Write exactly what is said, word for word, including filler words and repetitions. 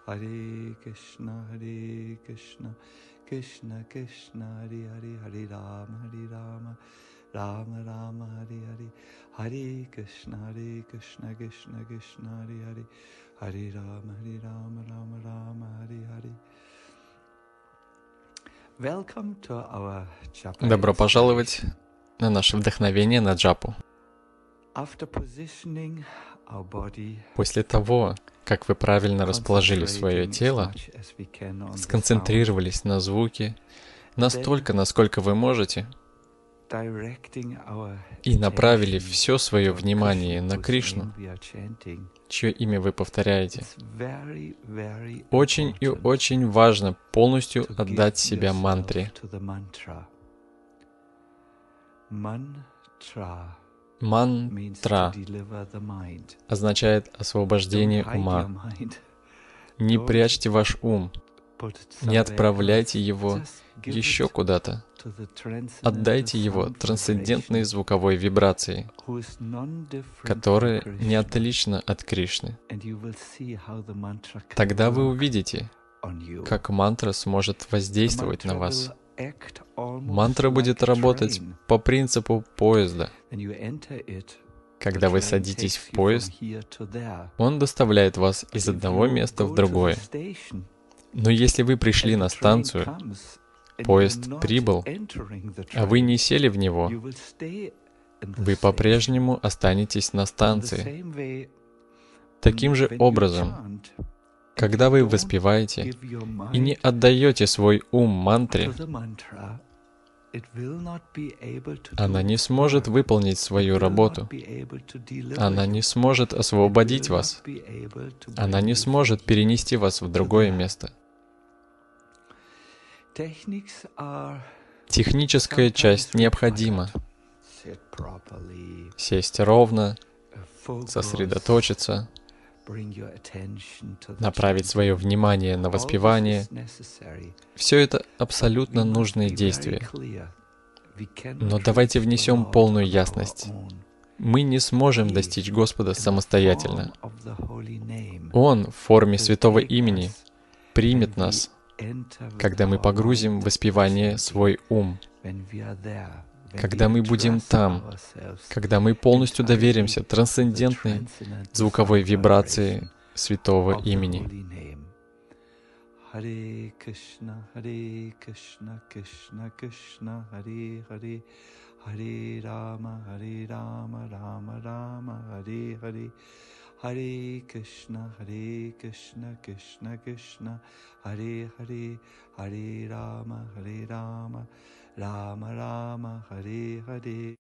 Hare Krishna, Hare Krishna, Krishna Krishna, Hare Hare, Hare Rama, Hare Rama, Rama Rama, Hare Hare, Hare Krishna, Hare Krishna, Krishna Krishna, Hare Hare, Hare Rama, Hare Rama, Rama Rama, Hare Hare. Welcome to our Japa Добро пожаловать inspiration. на наше вдохновение на джапу. After positioning our body, После того, как вы правильно расположили свое concentrating as тело, much as we can on the sound, сконцентрировались на звуке настолько, насколько вы можете, directing our и направили attention все свое toward внимание Krishna, на whose Кришну, name we are chanting, чье имя вы повторяете. it's very, very Очень и important очень важно полностью to отдать give себя yourself мантре. to the mantra. Mantra means to Мантра deliver the mind. означает Don't освобождение hide your ума. mind. Не Don't прячьте ваш ум, put it не somewhere отправляйте else. его Just give еще it куда-то. to the transcendental Отдайте его sound трансцендентной vibration, звуковой вибрации, who is non-different from которая не Krishna, отлична от Кришны. and you will see how the mantra can Тогда вы work увидите, on you. как мантра сможет The воздействовать на mantra вас. will act almost Мантра будет like a работать train. по принципу поезда. When you enter it, Когда the вы train садитесь takes в you from поезд, here to there. он доставляет вас из If одного you места go в to the другое. station Но если вы пришли and the на train станцию, comes and поезд you're not прибыл, entering the а вы train, не сели в него, you will stay in the вы station. по-прежнему останетесь на In the станции. same way, Таким же when you образом, chant, and когда you вы don't воспеваете give your и не mind отдаете свой ум to мантре, the mantra, it will not be able to она do не its сможет work. выполнить It свою will работу. not be able to deliver Она you. не сможет It освободить will вас. not be able to Она bring не you сможет from here перенести вас в to другое there. место. Techniques are Техническая sometimes часть необходима. required. Sit properly, Сесть ровно, uh, focus, сосредоточиться, bring your attention to the направить свое chanting. внимание на All this воспевание. is necessary. Все это But абсолютно we must нужные be very действия. clear. We Но cannot давайте reach the внесем Lord полную on our ясность. own. Мы не сможем He, достичь Господа in the самостоятельно. form of the holy name, Он в форме will святого take имени us примет when we нас, enter with когда мы our погрузим в mind воспевание chanting, свой ум, when we are there, when когда we мы будем entrust там, ourselves когда мы полностью entirely доверимся to the трансцендентной transcendental звуковой sound вибрации vibration святого of the имени. holy name. Hare Krishna, Hare Krishna, Krishna Krishna, Hare Hare, Hare Rama, Hare Rama, Rama Rama, Hare Hare, Hare Krishna, Hare Krishna, Krishna Krishna, Hare Hare, Hare Rama, Hare Rama, Rama Rama, Hare Hare.